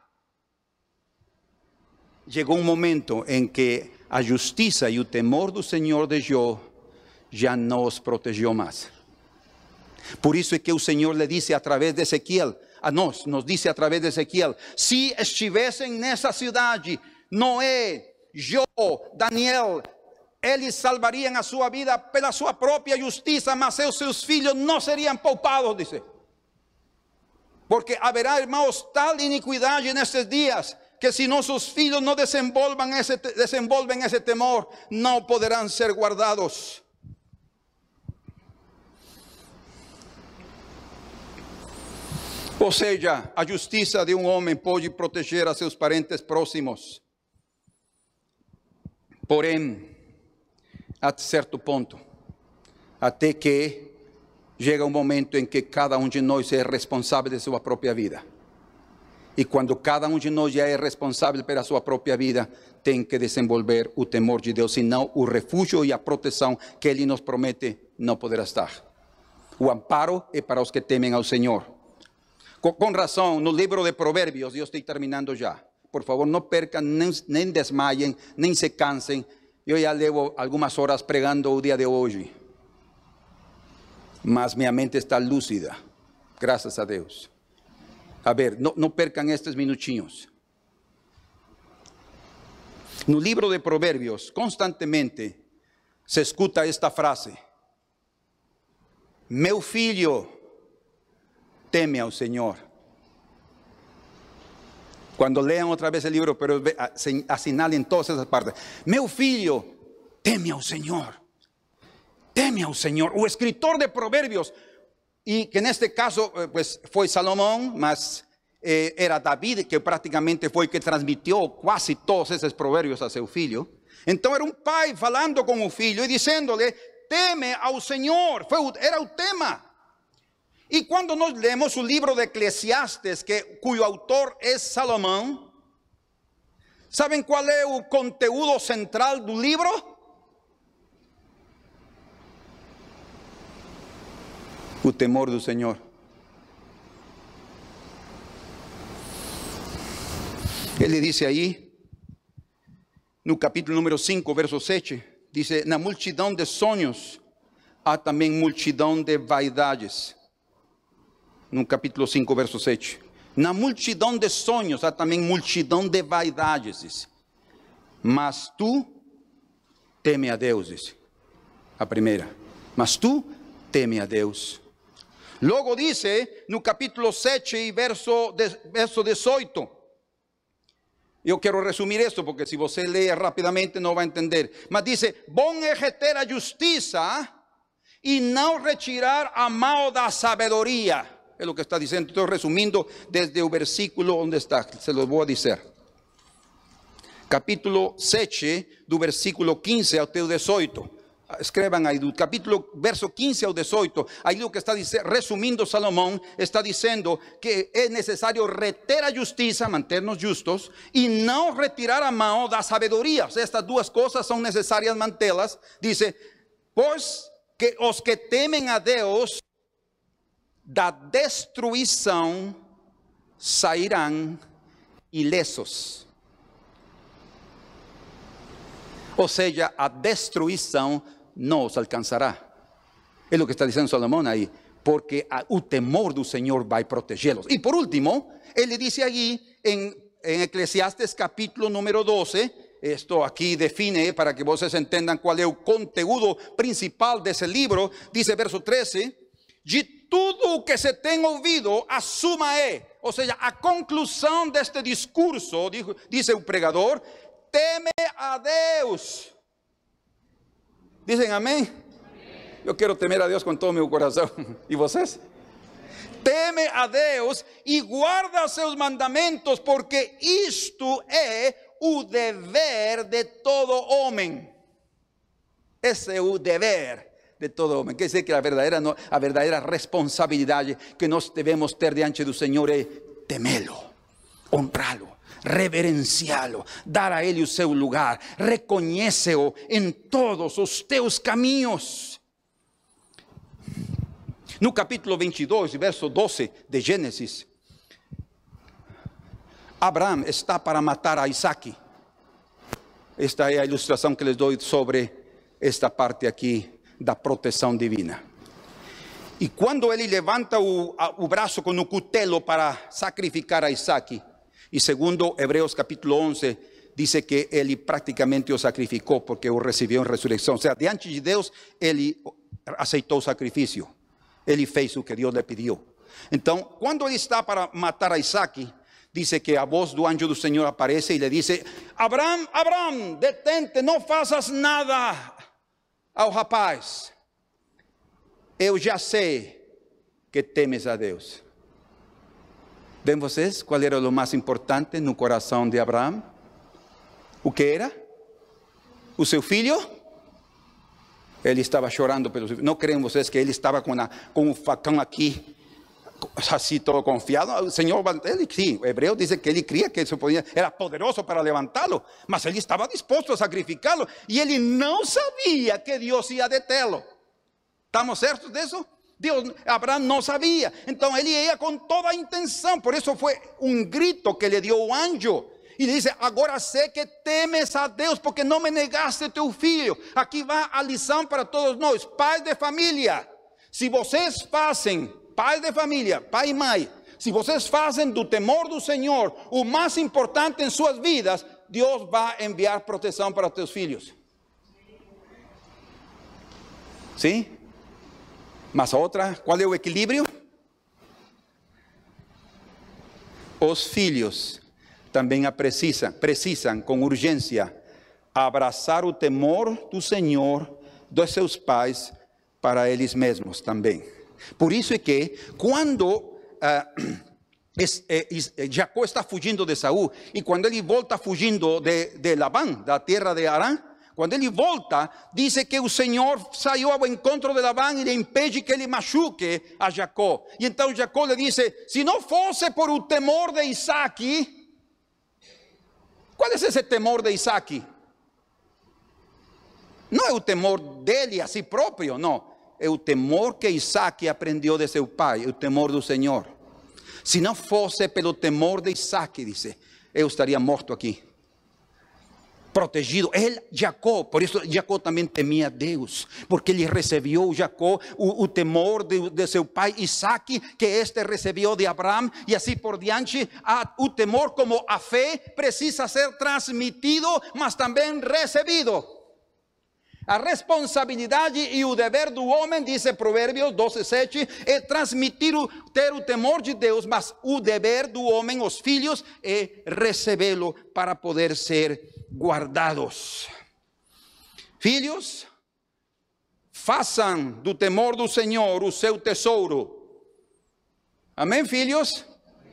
Speaker 1: Chegou um momento em que a justiça e o temor do Senhor de Jó já não os protegeu mais. Por isso é que o Senhor lhe disse através de Ezequiel, a nós, nos disse através de Ezequiel, se estivessem nessa cidade, Noé, Jó, Daniel, eles salvariam a sua vida pela sua própria justiça, mas os seus filhos não seriam poupados, dice. Porque haverá, irmãos, tal iniquidade nesses dias, que se nossos filhos não desenvolvam esse, desenvolvem esse temor, não poderão ser guardados. Ou seja, a justiça de um homem pode proteger a seus parentes próximos. Porém, a certo ponto, até que chega um momento em que cada um de nós é responsável de sua própria vida. E quando cada um de nós já é responsável pela sua própria vida, tem que desenvolver o temor de Deus, senão o refúgio e a proteção que Ele nos promete não poderá estar. O amparo é para os que temem ao Senhor. Com, com razão, no livro de Provérbios, eu estou terminando já. Por favor, não percam, nem, nem desmaiem, nem se cansem. Eu já levo algumas horas pregando o dia de hoje. Mas minha mente está lúcida, graças a Deus. A ver, não, não percam estes minutinhos. No livro de Provérbios, constantemente se escuta esta frase: meu filho, teme ao Senhor. Quando leiam outra vez o livro, pero assinalem todas essas partes. Meu filho, teme ao Senhor. Teme ao Senhor. O escritor de Provérbios, e que neste caso pues, foi Salomão, mas eh, era David, que praticamente foi que transmitiu quase todos esses provérbios a seu filho. Então era um pai falando com o filho e dizendo-lhe: teme ao Senhor. Foi, era o tema. E quando nós lemos o livro de Eclesiastes, que, cujo autor é Salomão, sabem qual é o conteúdo central do livro? O temor do Senhor. Ele disse aí, no capítulo número cinco, verso sete, diz: na multidão de sonhos há também multidão de vaidades. No capítulo cinco, verso sete. Na multidão de sonhos há também multidão de vaidades, diz. Mas tu teme a Deus, diz. A primeira. Mas tu teme a Deus. Logo dice no capítulo sete e verso, verso dezoito. Eu quero resumir isto, porque se você lê rapidamente não vai entender. Mas diz: bom é reter a justiça e não retirar a mal da sabedoria. É o que está dizendo. Estou resumindo desde o versículo onde está. Se lo vou dizer. Capítulo sete, do versículo quinze até o dezoito. Escrevam aí, do capítulo, verso quinze ao dezoito. Aí o que está dizendo, resumindo, Salomão está dizendo que é necessário reter a justiça, manter-nos justos, e não retirar a mão da sabedoria. Estas duas coisas são necessárias mantê-las. Diz: pois que os que temem a Deus da destruição sairão ilesos. Ou seja, a destruição não os alcançará. É o que está dizendo Salomão aí. Porque a, o temor do Senhor vai protegê-los. E por último, ele diz aí em, em Eclesiastes capítulo número doze. Esto aqui define, para que vocês entendam qual é o conteúdo principal desse livro. Diz verso treze: de tudo o que se tem ouvido, a suma é, ou seja, a conclusão deste discurso, diz o pregador: teme a Deus. Dizem amém? Amém? Eu quero temer a Deus com todo o meu coração. E vocês? Teme a Deus e guarda seus mandamentos, porque isto é o dever de todo homem. Esse é o dever de todo homem. Quer dizer que a verdadeira, a verdadeira responsabilidade que nós devemos ter diante do Senhor é temê-lo, honrá-lo, reverenciá-lo, dar a Ele o seu lugar, reconhece-o em todos os teus caminhos. No capítulo vinte e dois, verso doze de Gênesis, Abraão está para matar a Isaque. Esta é a ilustração que les dou sobre esta parte aqui da proteção divina. E quando ele levanta o, o braço com o cutelo para sacrificar a Isaque, e segundo Hebreus capítulo onze, diz que ele praticamente o sacrificou porque o recebeu em ressurreição. Ou seja, diante de Deus, ele aceitou o sacrifício. Ele fez o que Deus lhe pediu. Então, quando ele está para matar a Isaque, diz que a voz do anjo do Senhor aparece e lhe diz: Abraão, Abraão, detente, não faças nada ao rapaz. Eu já sei que temes a Deus. Vêem vocês qual era o mais importante no coração de Abraão? O que era? O seu filho? Ele estava chorando pelo seu filho. Não creem vocês que ele estava com, a, com o facão aqui, assim todo confiado? O Senhor, ele sim, o hebreu diz que ele cria que isso podia, era poderoso para levantá-lo, mas ele estava disposto a sacrificá-lo, e ele não sabia que Deus ia detê-lo. ¿Estamos certos disso? Deus, Abraão não sabia, então ele ia com toda a intenção. Por isso foi um grito que lhe deu o anjo, e ele disse: agora sei que temes a Deus, porque não me negaste teu filho. Aqui vai a lição para todos nós, pais de família. Se vocês fazem, pais de família, pai e mãe, se vocês fazem do temor do Senhor o mais importante em suas vidas, Deus vai enviar proteção para os teus filhos. Sim? Mas a outra, qual é o equilíbrio? Os filhos também precisam, precisam com urgência abraçar o temor do Senhor dos seus pais para eles mesmos também. Por isso é que quando uh, es, es, es, Jacó está fugindo de Saul, e quando ele volta fugindo de, de Labán, da terra de Arã, quando ele volta, diz que o Senhor saiu ao encontro de Labán e lhe impede que ele machuque a Jacó. E então Jacó lhe disse: se não fosse por o temor de Isaque. Qual é esse temor de Isaque? Não é o temor dele a si próprio, não. É o temor que Isaque aprendeu de seu pai, o temor do Senhor. Se não fosse pelo temor de Isaque, disse, eu estaria morto aqui. Protegido, ele, Jacó, por isso Jacó também temia a Deus, porque ele recebeu, Jacó, o, o temor de, de seu pai Isaque, que este recebeu de Abraão, e assim por diante. A, o temor, como a fé, precisa ser transmitido, mas também recebido. A responsabilidade e o dever do homem, diz Provérbios doze, sete, é transmitir, o, ter o temor de Deus, mas o dever do homem, os filhos, é recebê-lo para poder ser guardados. Filhos, façam do temor do Senhor o seu tesouro. Amém, filhos?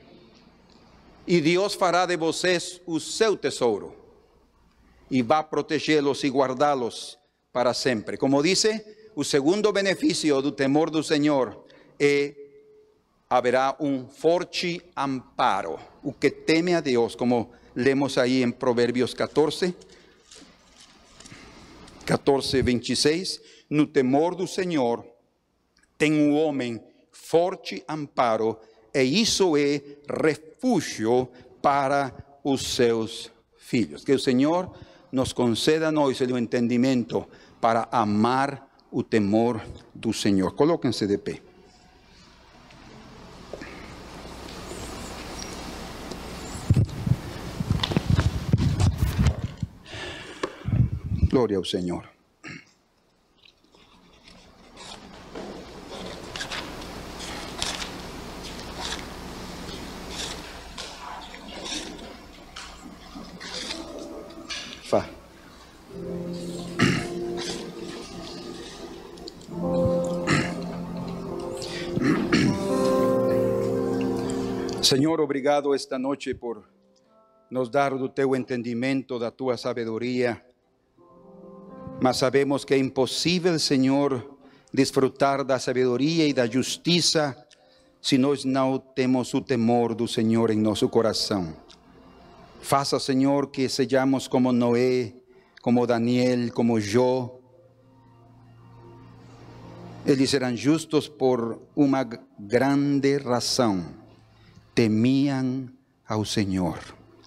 Speaker 1: E Deus fará de vocês o seu tesouro, e vai protegê-los e guardá-los para sempre. Como dice, o segundo benefício do temor do Senhor é haverá um forte amparo. O que teme a Deus, como lemos aí em Provérbios catorze, catorze, vinte e seis, no temor do Senhor tem um homem forte amparo, e isso é refúgio para os seus filhos. Que o Senhor nos conceda a nós o entendimento para amar o temor do Senhor. Colóquense de pé. Glória ao Senhor. Fá. Senhor, obrigado esta noite por nos dar do teu entendimento, da tua sabedoria. Mas sabemos que é impossível, Senhor,
Speaker 2: desfrutar da sabedoria e da justiça se nós não temos o temor do Senhor em nosso coração. Faça, Senhor, que sejamos como Noé, como Daniel, como Jó. Eles eram justos por uma grande razão. Temían ao Senhor.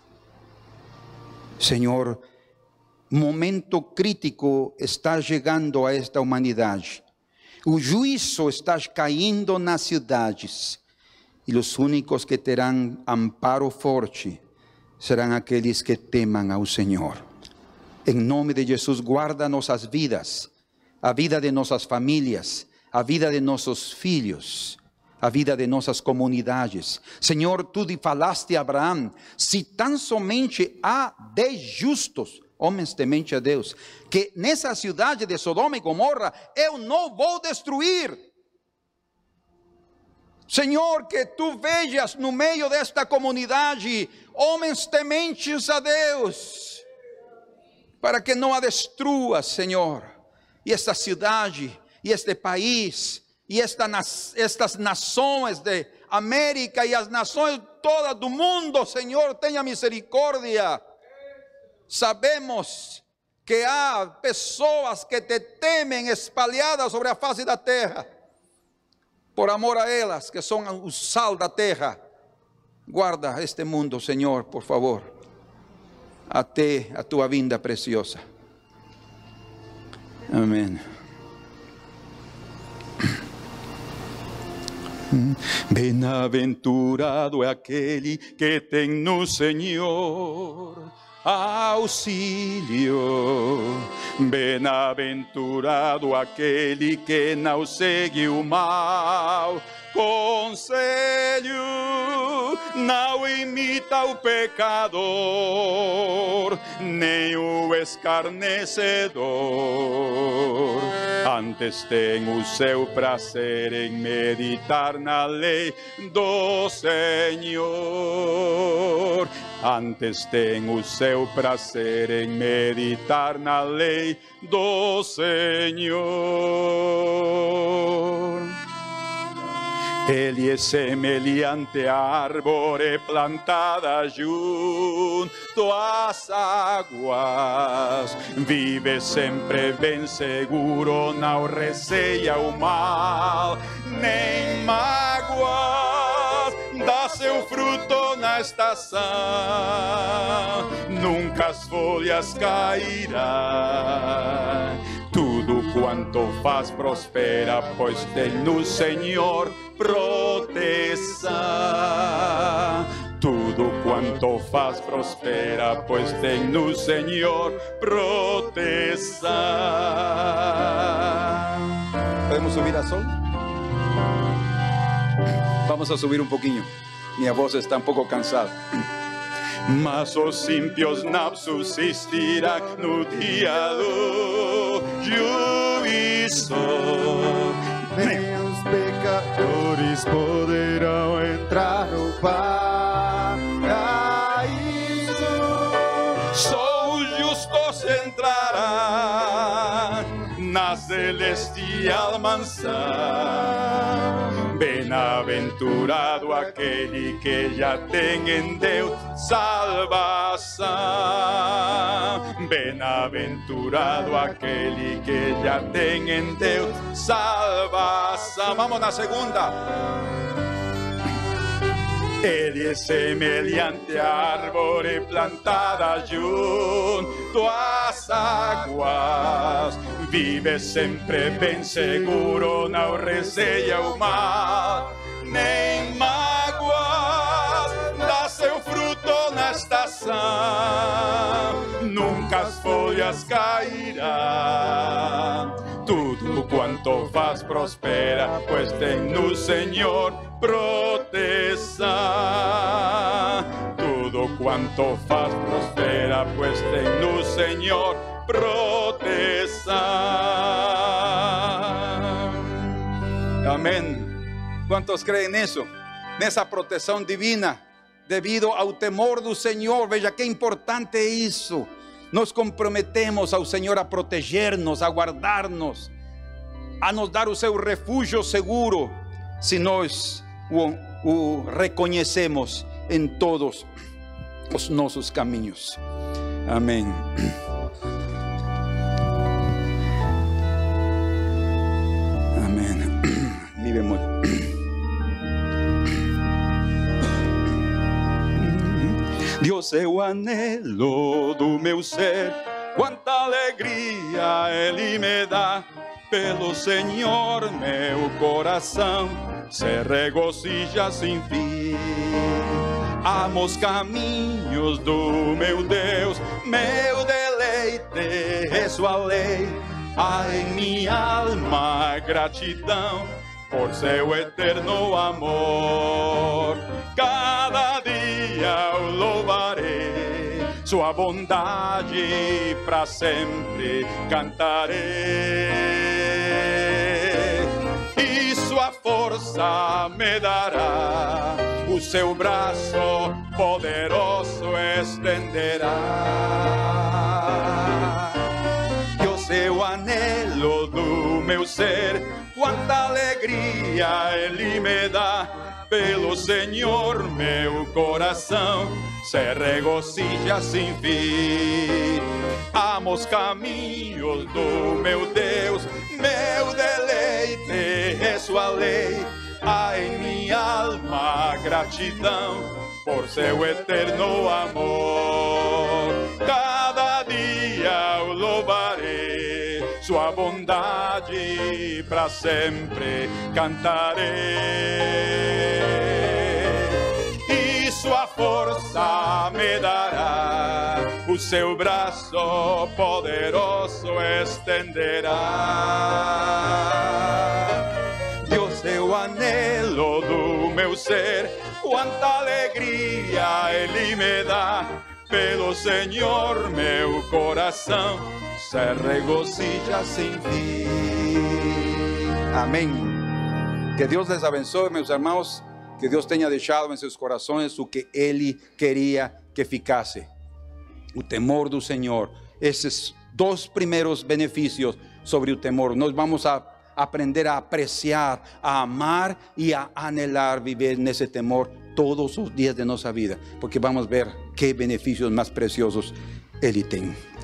Speaker 2: Senhor, momento crítico está chegando a esta humanidade. O juízo está caindo nas cidades. E os únicos que terão amparo forte serão aqueles que temam ao Senhor. Em nome de Jesus, guarda nossas vidas, a vida de nossas famílias, a vida de nossos filhos, a vida de nossas comunidades. Senhor, tu falaste a Abraão, se tão somente há dez justos, homens temente a Deus, que nessa cidade de Sodoma e Gomorra eu não vou destruir. Senhor, que tu vejas no meio desta comunidade homens tementes a Deus, para que não a destrua, Senhor, e esta cidade, e este país, e esta, estas nações de América e as nações todas do mundo, Senhor, tenha misericórdia. Sabemos que há pessoas que te temem espalhadas sobre a face da terra, por amor a elas, que são o sal da terra. Guarda este mundo, Senhor, por favor, até a tua vinda preciosa. Amém.
Speaker 1: Bem-aventurado é aquele que tem no Senhor auxílio. Bem-aventurado aquele que não segue o mal conselho, não imita o pecador, nem o escarnecedor. Antes tem o seu prazer em meditar na lei do Senhor. Antes tem o seu prazer em meditar na lei do Senhor. Ele é semelhante à árvore plantada junto às águas. Vive sempre bem seguro, não receia o mal, nem mágoas. Dá seu fruto na estação, nunca as folhas cairão. Tudo quanto faz prospera, pois tem no Senhor proteção. Tudo quanto faz prospera, pois tem no Senhor proteção.
Speaker 2: Podemos subir a sol? Vamos a subir um pouquinho. Minha voz está um pouco cansada.
Speaker 1: Mas os ímpios não subsistirão no dia do juízo.
Speaker 3: Nem os pecadores poderão entrar no paraíso.
Speaker 1: Só os justos entrarão na celestial mansão. Bem-aventurado aquele que já tem em Deus salvação. Bem-aventurado aquele que já tem em Deus salvação. Vamos na segunda. Ele é semelhante à árvore plantada junto às águas. Vive sempre bem seguro, não receia o mal, nem mágoas. Dá seu fruto na estação, nunca as folhas cairão. Tudo quanto faz prospera, pois tem no Senhor proteção. Tudo quanto faz prospera, pois tem no Senhor proteção.
Speaker 2: Amém. Quantos creem nisso? Nessa proteção divina, devido ao temor do Senhor. Veja que importante é isso. Nos comprometemos ao Senhor a proteger-nos, a guardar-nos. a nos dar o seu refúgio seguro, se nós o, o reconhecemos em todos os nossos caminhos. Amém. Amém. Mi bemol. Deus é o anelo do meu ser, quanta alegria Ele me dá. Pelo Senhor meu coração se regozija sem fim. Amo os caminhos do meu Deus, meu deleite é sua lei. Há em minha alma gratidão por seu eterno amor. Cada dia eu louvarei sua bondade, para sempre cantarei. E sua força me dará, o seu braço poderoso estenderá. Eu sei o anelo do meu ser, quanta alegria Ele me dá. Pelo Senhor meu coração se regozija sem fim. Amo os caminhos do meu Deus, meu deleite é sua lei. Há em minha alma gratidão por seu eterno amor. Cada dia eu louvarei sua bondade, para sempre cantarei. E sua força me dará, o seu braço poderoso estenderá. Deus é o anelo do meu ser, quanta alegria Ele me dá. Pelo Senhor meu coração se regozija sem fim. Amém. Que Deus les abençoe, meus irmãos. Que Deus tenha deixado em seus corações o que Ele queria que ficasse: o temor do Senhor. Esses dois primeiros benefícios sobre o temor, nós vamos a aprender a apreciar, a amar e a anhelar viver nesse temor todos os dias de nossa vida, porque vamos ver que benefícios mais preciosos Ele tem.